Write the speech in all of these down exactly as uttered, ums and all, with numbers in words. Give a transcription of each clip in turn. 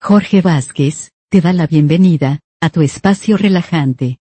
Jorge Vázquez, te da la bienvenida a tu espacio relajante.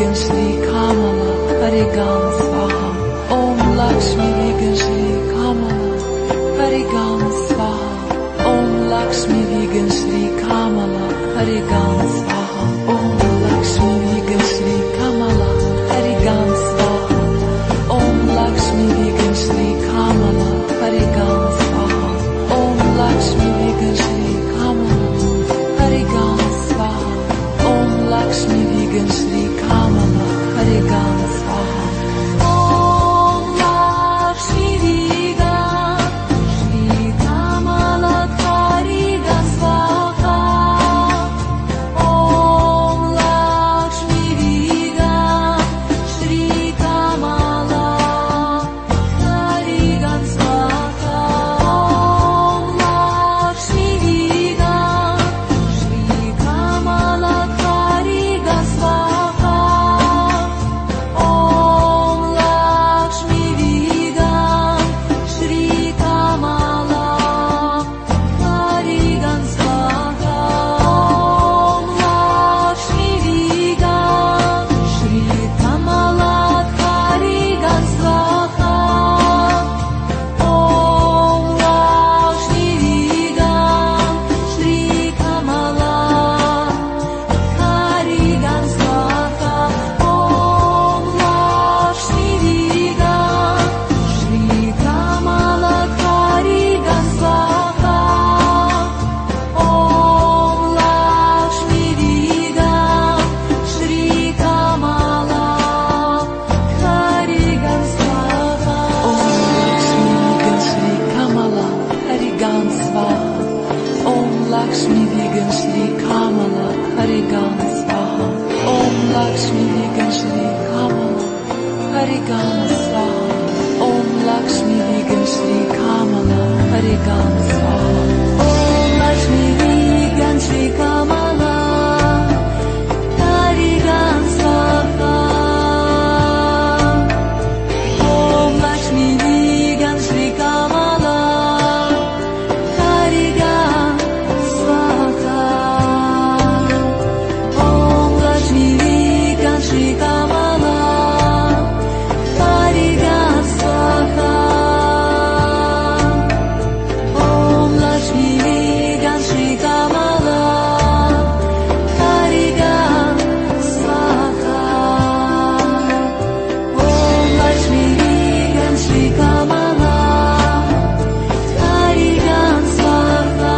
Vegan Shri Kamala Harigan Swaha. Om Lakshmi Vegan Shri Kamala Harigan Swaha. Om Lakshmi Vegan Shri Kamala Harigan Swaha. Om Lakshmi Vegan Shri Kamala Harigan Swaha. Om Lakshmi Vegan Shri Kamala Harigan Swaha. Om Lakshmi Vegan Shri Kamala Harigan Swaha. Om Lakshmi Vegan Shri Kamala Harigan Swaha. Om Lakshmi Vegan Shri Kamala Harigan Swaha. Om Lakshmi Vegan Shri Kamala Harigan Swaha. Om Lakshmi Vegan Shri Kamala Harigan Swaha. Om Lakshmi Vegan Shri Kamala Harigan Swaha. Om Lakshmi Vegan Shri Kamala Harigan Swaha. Om Lakshmi Vegan Shri Kamala Harigan Swaha. Om Lakshmi Vegan Shri Kamala Harigan Swaha. Om Lakshmi Vegan Shri Kamala Harigan Swaha. Om Lakshmi Vegan Shri Kamala Harigan Swaha. Om Lakshmi Vegan Shri Kamala Harigan Swaha. Om Lakshmi Vegan Shri Kamala Harigan Swaha. Om Lakshmi Vegan Shri Kamala Harigan Swaha. Om Lakshmi Vegan Shri Kamala Harigan Swaha. Om Lakshmi Vegan Shri Kamala Harigan Swaha. Om Lakshmi Vegan Shri Kamala Harigan Swaha. Om Lakshmi Vegan Shri Kamala Harigan Swaha.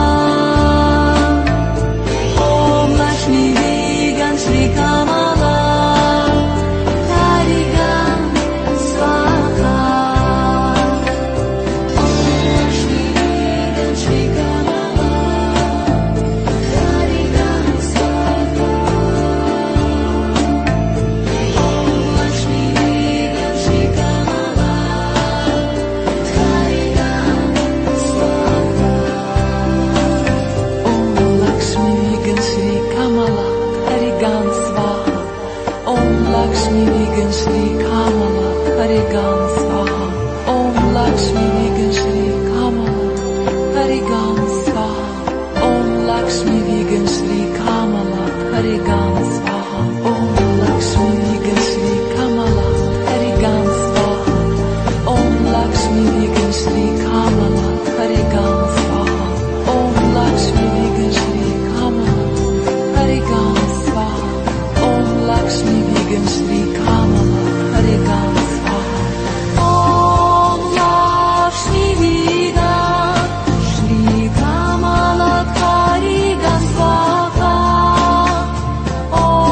Om Lakshmi Vegan Shri Kamala Harigan Swaha. Om Lakshmi Vegan Shri Kamala Harigan Swaha. Om Lakshmi Vegan Shri Kamala Harigan Swaha. Om Lakshmi Vegan Shri Kamala Harigan Swaha. Om Lakshmi Vegan Shri Kamala Harigan Swaha. Om Lakshmi Vegan Shri Kamala Harigan Swaha. Om Lakshmi Vegan Shri Kamala Harigan Swaha. Om Lakshmi Vegan Shri Kamala Harigan Swaha. Om Lakshmi Vegan Shri Kamala Harigan Swaha. Om Lakshmi Vegan Shri Kamala Harigan Swaha. Om Lakshmi Vegan Shri Kamala Harigan Swaha. Om Lakshmi Vegan Shri Kamala Harigan Swaha. Om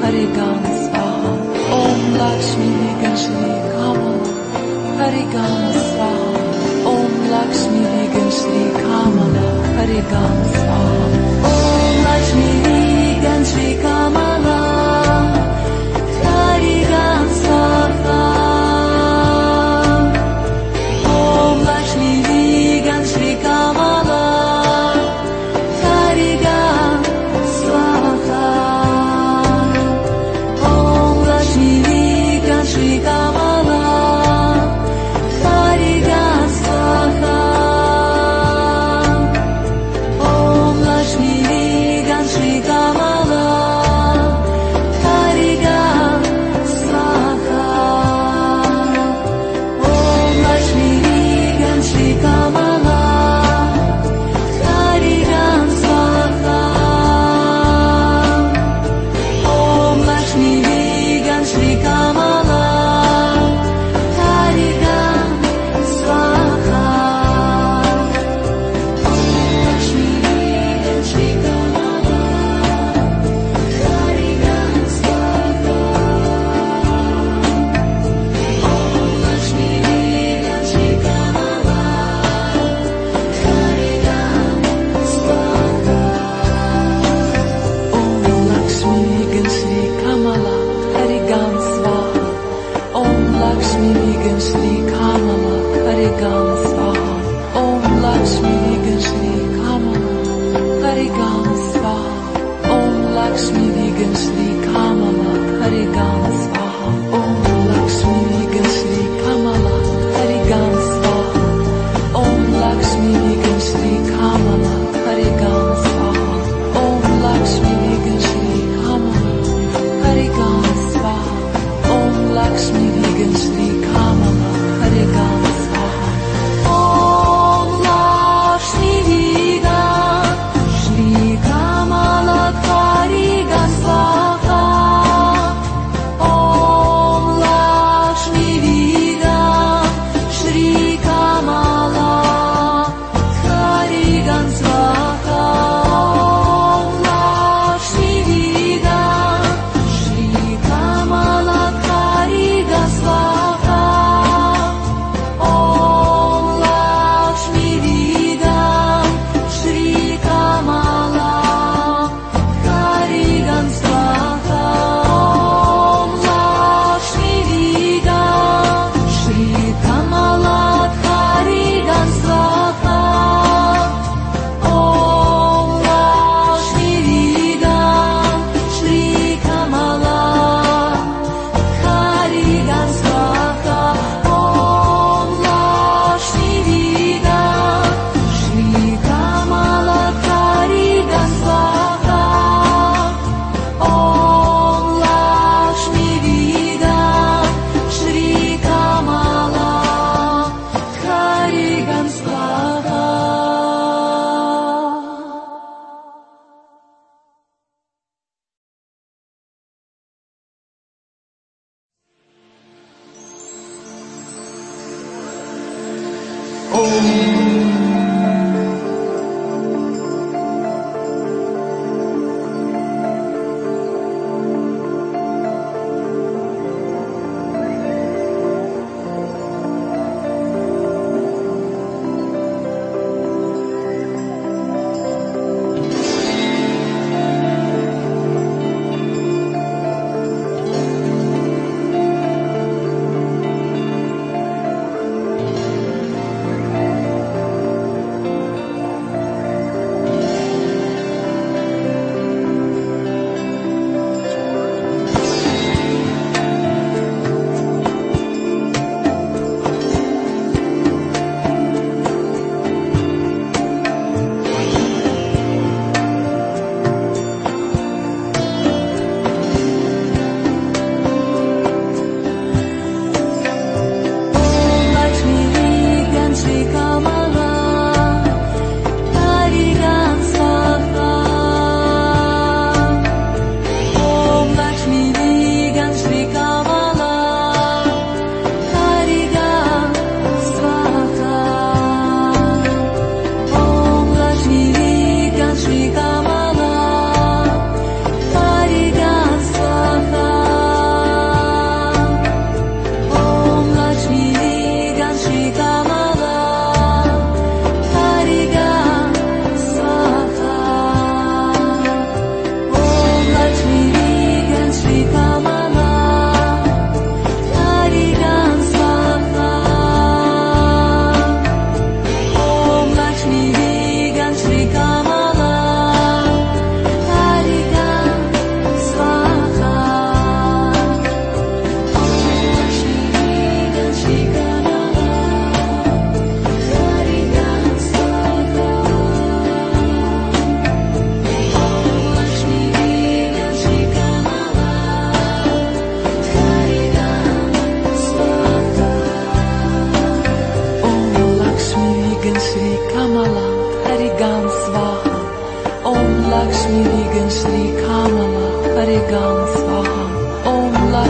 Harigan Swaha. Om Lakshmi Vigan Shri Kamala. Harigan Swaha. Om Lakshmi Vigan Shri Kamala. Harigan Swaha. Om Lakshmi Vigan Shri Kamala. Harigan Swaha. Om Lakshmi Vigan Shri Kamala. Harigan Swaha. Om Lakshmi Vigan Shri Kamala. Harigan Swaha. Om Lakshmi Vigan Shri Kamala. Harigan Swaha. Om Lakshmi Vigan Shri Kamala. Harigan Swaha. Om Lakshmi Vigan Shri Kamala. Harigan Swaha. Om Lakshmi Vigan Shri Kamala. Harigan Swaha. Om Lakshmi Vigan Shri Kamala. Harigan Swaha. Om Lakshmi Vigan Shri Kamala. Harigan Swaha. Om Lakshmi Vigan Shri Kamala. Harigan Swaha. Om Lakshmi Vigan Shri Kamala. Harigan Swaha. Om Lakshmi Vigan Shri Kamala. Harigan Swaha. Om Lakshmi Vigan Shri Kamala. Harigan Swaha. Om Lakshmi Vigan Shri Kamala. Harigan Swaha. Om Lakshmi Vigan Shri Kamala. Harigan Swaha. Om Lakshmi Vigan Shri Kamala. Harigan Swaha. Om Lakshmi Vigan Shri Kamala. Harigan Swaha. Om Lakshmi Vigan Shri Kamala. Harigan Swaha. Om Lakshmi Vigan Shri Kamala. Harigan Swaha. Om Lakshmi Vigan Shri Kamala. Harigan Swaha. Om Lakshmi Vigan Shri Kamala. Harigan Swaha. Om Lakshmi Vigan Shri Kamala. Harigan Swaha. Om Lakshmi Vigan Shri Kamala. Harigan Swaha. Om Lakshmi Vigan Shri Kamala. Harigan Swaha.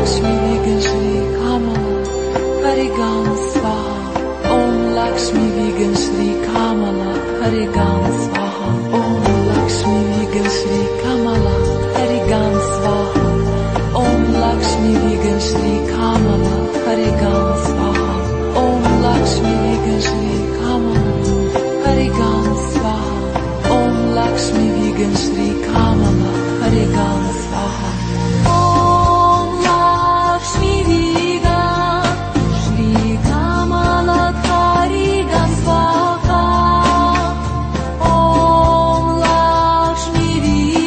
Lakshmi Vegan Shri Kamala Harigan Swaha. Om Lakshmi Vegan Shri Kamala Harigan Swaha. Om Lakshmi Vegan Shri Kamala Harigan Swaha. Om Lakshmi Vegan Shri Kamala Harigan Swaha. Om Lakshmi Vegan Shri Kamala Harigan Swaha. Om Lakshmi Vegan Shri Kamala Harigan Swaha. Om Lakshmi Vegan Shri Kamala Harigan Swaha. Om Lakshmi Vegan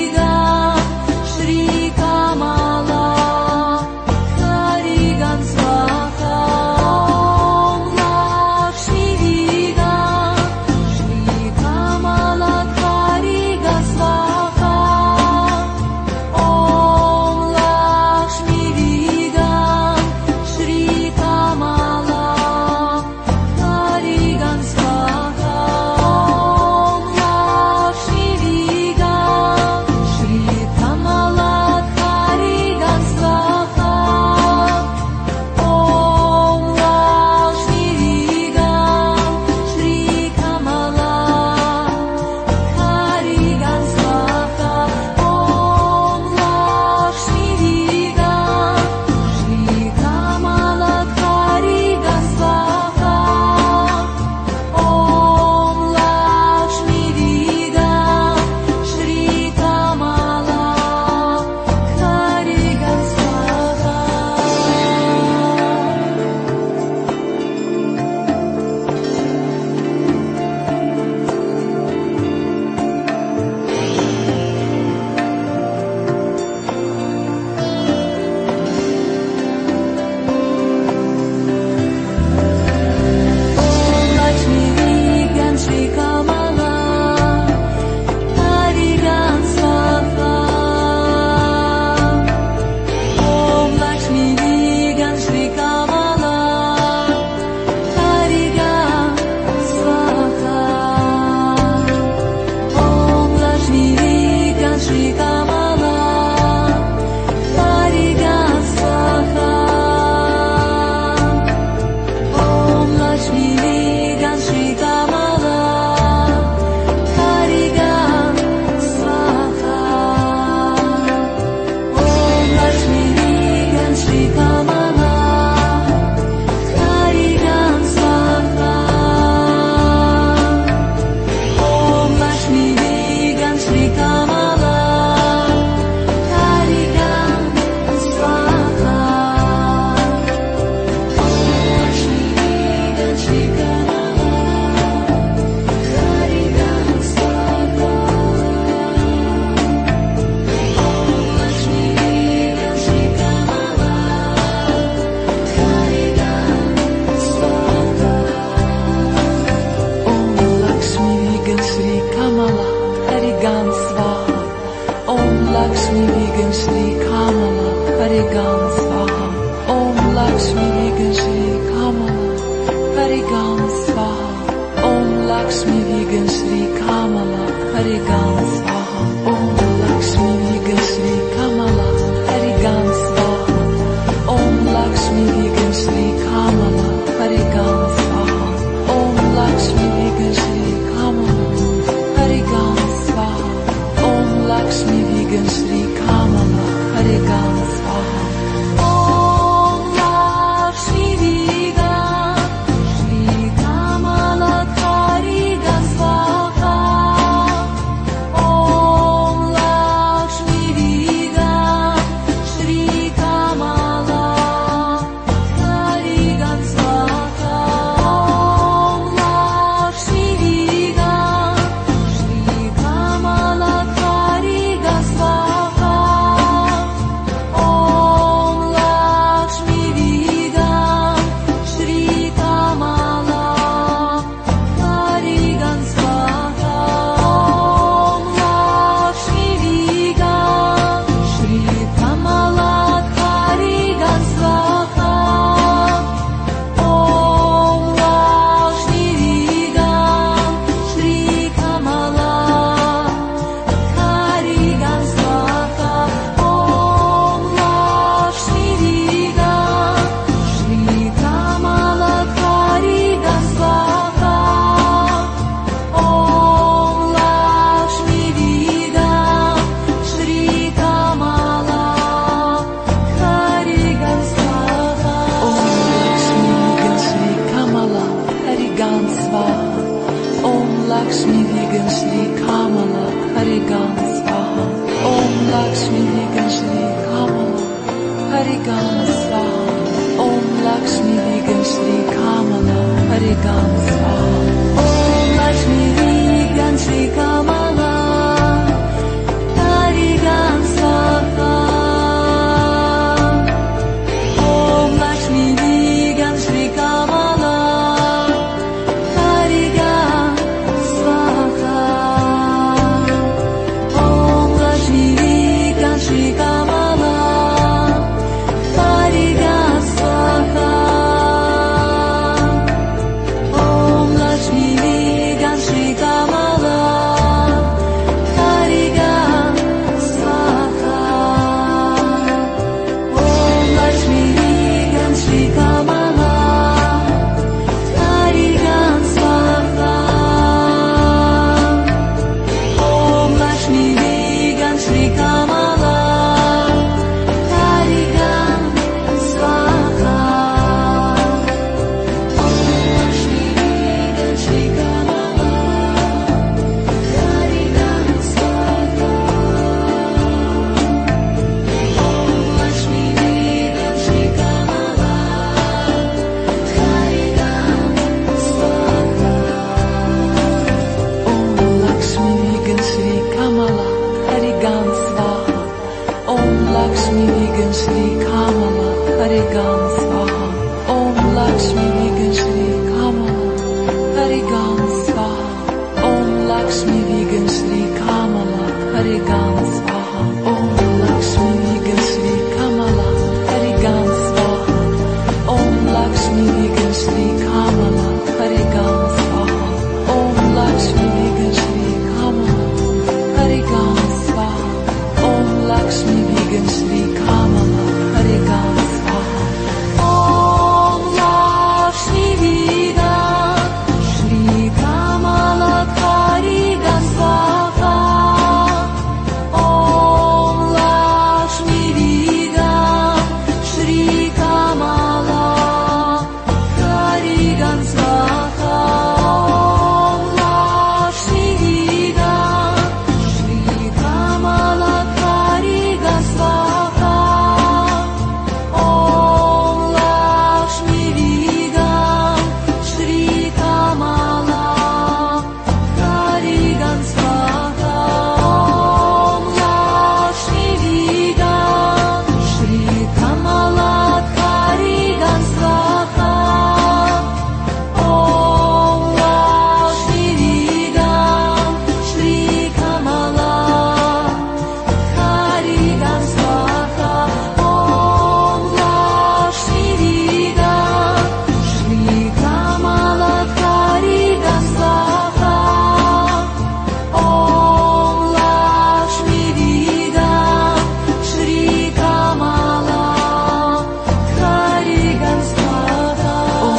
Harigam Swaha. Om Lakshmi Vigam Shri Kamala. Harigam Swaha. Om Lakshmi Vigam Shri Kamala. Harigam Swaha. Om Lakshmi Vigam Shri Kamala. Harigam Swaha. Om Lakshmi Vigam Shri Kamala. Harigam Swaha. Om Lakshmi Vigam Shri Kamala. Harigam Swaha. Om Lakshmi Vigam Shri Kamala. Harigam Swaha. Om Lakshmi Vigam Shri Kamala. Harigam Swaha. Om Lakshmi Vigam Shri Kamala. Harigam Swaha. Om Lakshmi Vigam Shri Kamala. Harigam Swaha. Om Lakshmi Vigam Shri Kamala. Harigam Swaha. Om Lakshmi Vigam Shri Kamala. Harigam Swaha. Om Lakshmi Vigam Shri Kamala. Harigam Swaha. Om Lakshmi Vigam Shri Kamala. Harigam Swaha. Om Lakshmi Vigam Shri Kamala. Harigam Swaha. Om Lakshmi Vigam Shri Kamala. Harigam Swaha. Om Lakshmi Vigam Shri Kamala. Harigam Swaha. Om Lakshmi Vigam Shri Kamala. Harigam Swaha. Om Lakshmi Vigam Shri Kamala. Harigam Swaha. Om Lakshmi Vigam Shri Kamala. Harigam Swaha. Om Lakshmi Vigam Shri Kamala. Harigam Swaha. Om Lakshmi Vigam Shri Kamala. Harigam Swaha. Om Lakshmi Vigam Shri Kamala. Harigam Swaha. Om Lakshmi Vigam Shri Kamala. Harigam Swaha. Om Lakshmi Vigam Shri Kamala. Harigam Swaha. Om Lakshmi Vigam Shri Kamala. Harigam Swaha.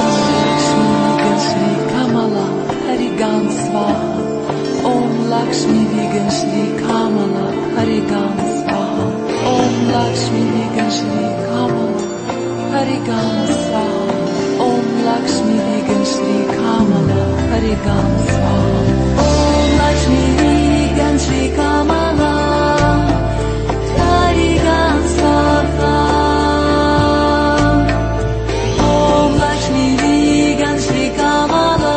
Om Lakshmi Vigam Shri Kamala. Harigam Swaha. Om Lakshmi Vigam Shri Kamala. Harigam Swaha. Om Lakshmi Vigam Shri Kamala. Harigam Swaha. Om Lakshmi Vigam Shri Kamala. Harigam Swaha. Om Lakshmi Vigam Shri Kamala.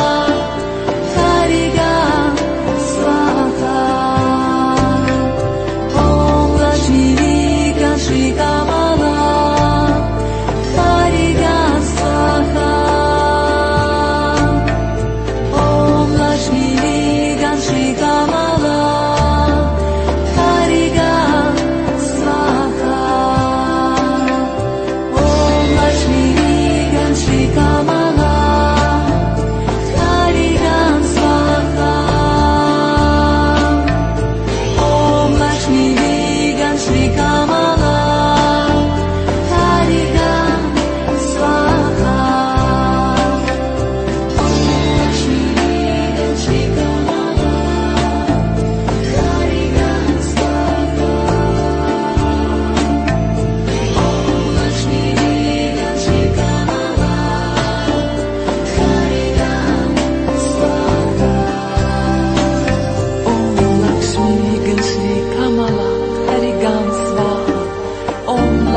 Harigam Swaha. Om Lakshmi Vigam Shri Kamala. Harigam Swaha. Om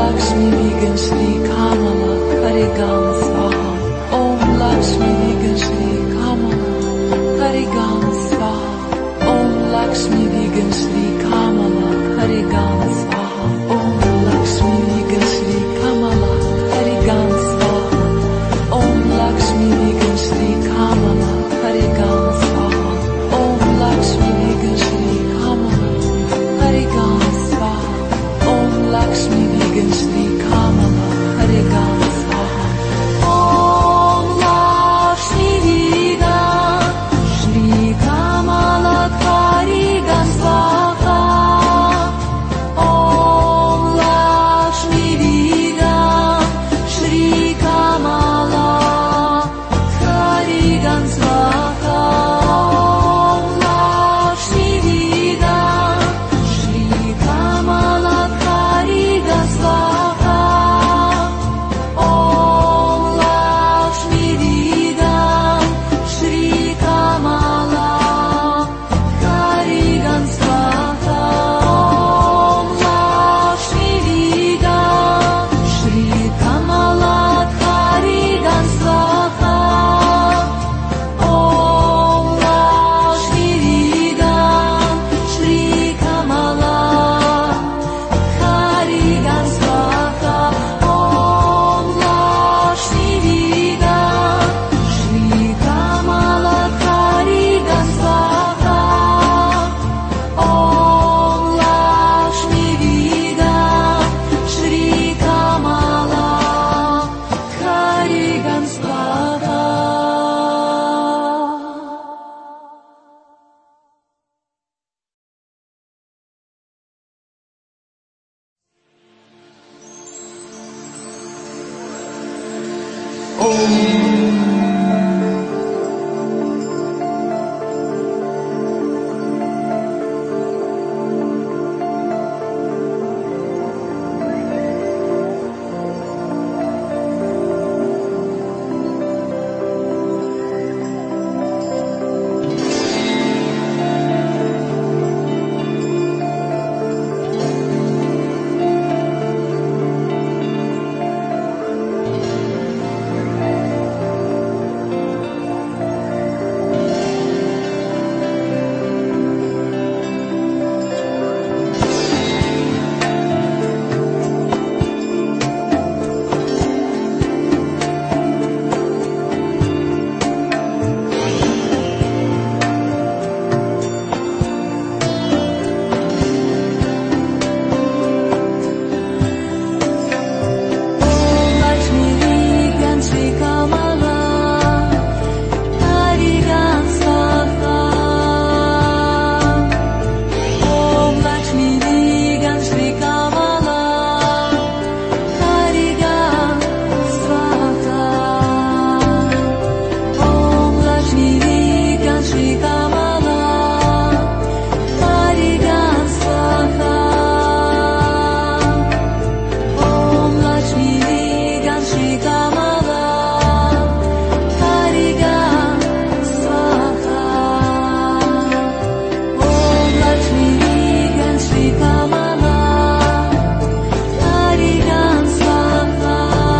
Lakshmi Vigan Shri Kamala Harigam Swaha. Om Lakshmi Vigan Shri Kamala Harigam Swaha. Om Lakshmi Vigan Shri Kamala Harigam Swaha. Om Lakshmi Vigan Shri Kamala Harigam Swaha. Om Lakshmi Vigan Shri Kamala Harigam Swaha. Om Lakshmi Vigan Shri Kamala Harigam Swaha. Om Lakshmi Vigan Shri Kamala Harigam Swaha. Om Lakshmi Vigan Shri Kamala Harigam Swaha. Om Lakshmi Vigan Shri Kamala Harigam Swaha. Om Lakshmi Vigan Shri Kamala Harigam Swaha. Om Lakshmi Vigan Shri Kamala Harigam Swaha. Om Lakshmi Vigan Shri Kamala Harigam Swaha. Om Lakshmi Vigan Shri Kamala Harigam Swaha. Om Lakshmi Vigan Shri Kamala Harigam Swaha. Om Lakshmi Vigan Shri Kamala Harigam Swaha. Lakshmi Vigan Shri Kamala Harigam Swaha. Om Lakshmi Vigan Shri Kamala Harigam Swaha. Om Lakshmi Vigan Shri Kamala Harigam Swaha. Om Lakshmi Vigan Shri Kamala Harigam Swaha. Om Lakshmi Vigan Shri Kamala Harigam Swaha.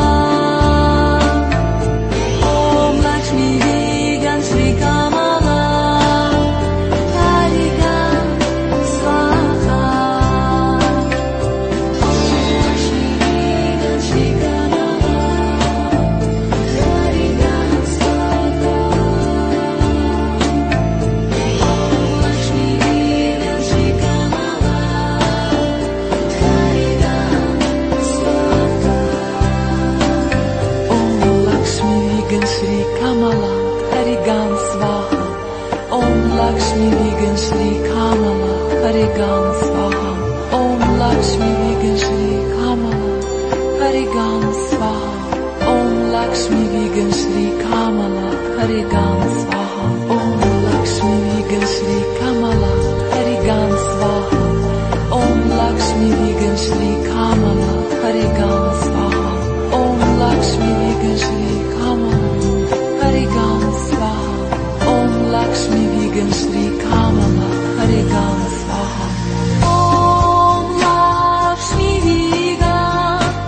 Om Lakshmi Vigan Shri Kamala Harigam Swaha. Om Lakshmi Vigan Shri Kamala Harigam Swaha. Om Lakshmi Vigan Shri Kamala Harigam Swaha. Om Lakshmi Vigan Shri Kamala Harigam Swaha. Om Lakshmi Vigan Shri Kamala Harigam Swaha. Om Lakshmi Vigan Shri Kamala Harigam Swaha. Om Lakshmi Vigan Shri Kamala Harigam Swaha. Om Lakshmi Vigan Shri Kamala Harigam Swaha. Om Lakshmi Vigan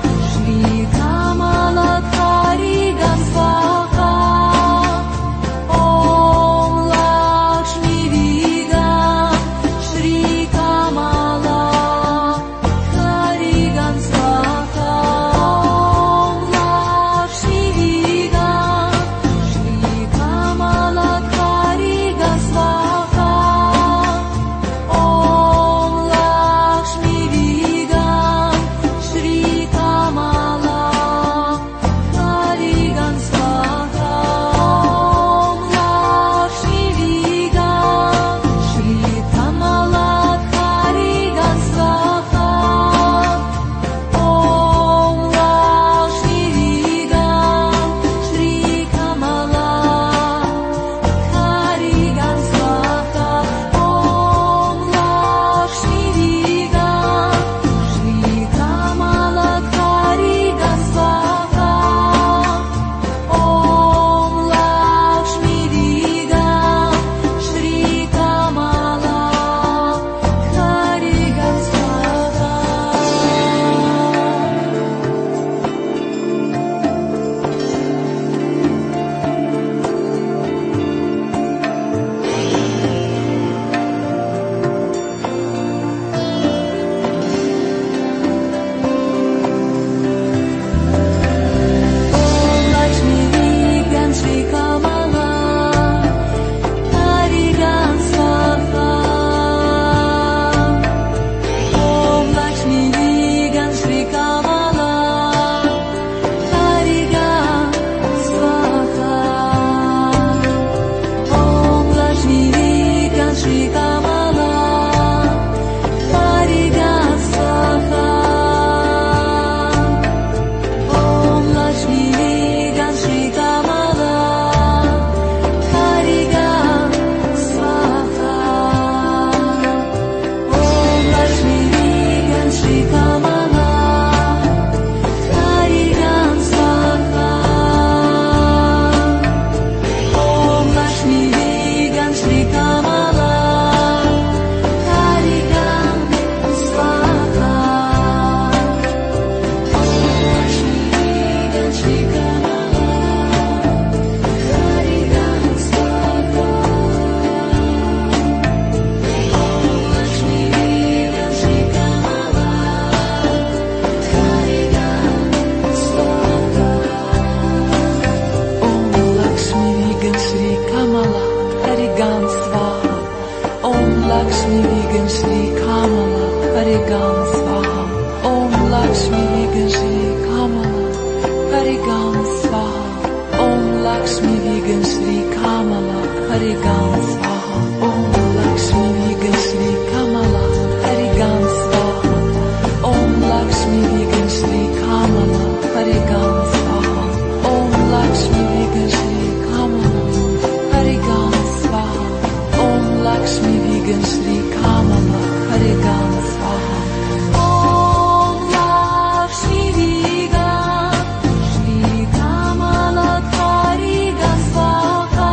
Vegan Shri Kamala Harigam Swaha. Om Lakshmi Vegan Shri Kamala Harigam Swaha. Om Lakshmi Vegan Shri Kamala Harigam Swaha. Om Lakshmi Vegan Shri Kamala Harigam Swaha. Om Lakshmi Vegan Shri Kamala Harigam Swaha. Om Lakshmi Vegan Shri Kamala Harigam Swaha. Om Lakshmi Vegan Shri Kamala Harigam Swaha. Om Lakshmi Vegan Shri Kamala Harigam Swaha.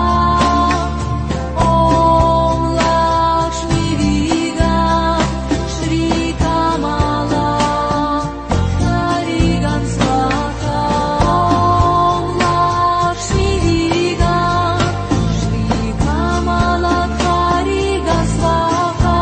Om Lakshmi Vegan Shri Kamala Harigam Swaha. Om Lakshmi Vegan Shri Kamala Harigam Swaha.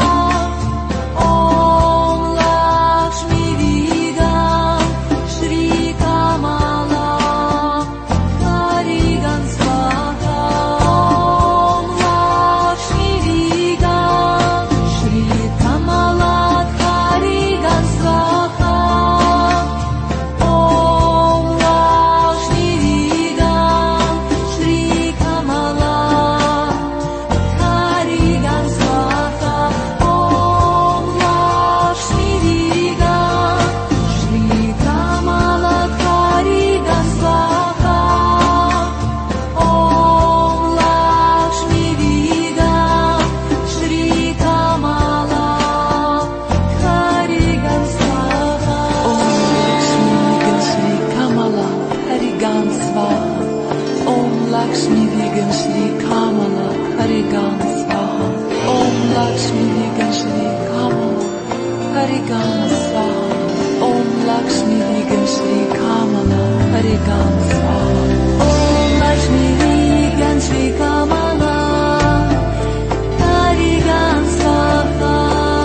Om Lakshmi Vegan Shri Kamala Harigam Swaha. Om Lakshmi Vegan Shri Kamala Harigam Swaha. Om Lakshmi Vegan Shri Kamala Harigam Swaha. Om Lakshmi Vegan Shri Kamala Harigam Swaha. Om Lakshmi Vegan Shri Kamala Harigam Swaha. Om Lakshmi Vegan Shri Kamala Harigam Swaha. Om Lakshmi Vegan Shri Kamala Harigam Swaha. Om Lakshmi Vegan Shri Kamala Harigam Swaha. Om Lakshmi Vegan Shri Kamala Harigam Swaha.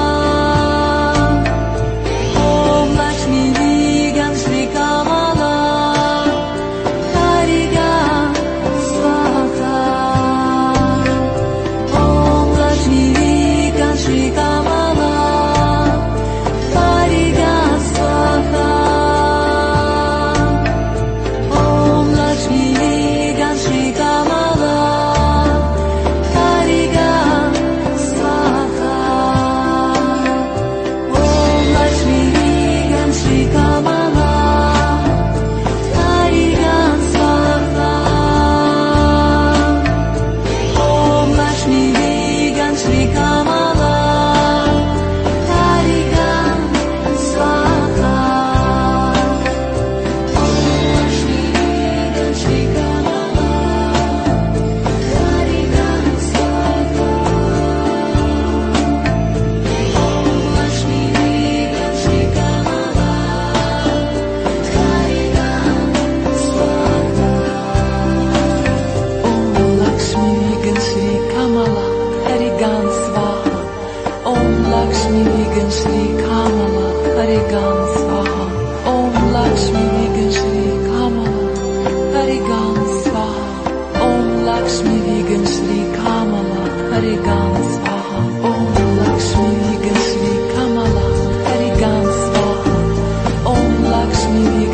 Om Lakshmi Vegan Shri Kamala Harigam Swaha. Om Lakshmi Vegan Shri Kamala Harigam Swaha. Om Lakshmi Vegan Shri Kamala Harigam Swaha. Om Lakshmi Vegan Shri Kamala Harigam Swaha. Om Lakshmi Vegan Shri Kamala Harigam Swaha. Om Lakshmi Vegan Shri Kamala Harigam Swaha. Om Lakshmi Vegan Shri Kamala Harigam Swaha. Om Lakshmi Vegan Shri Kamala Harigam Swaha. Om Lakshmi Vegan Shri Kamala Harigam Swaha. Om Lakshmi Vegan Shri Kamala Harigam Swaha. Om Lakshmi Vegan Shri Kamala Harigam Swaha. Om Lakshmi Vegan Shri Kamala Harigam Swaha. Om Lakshmi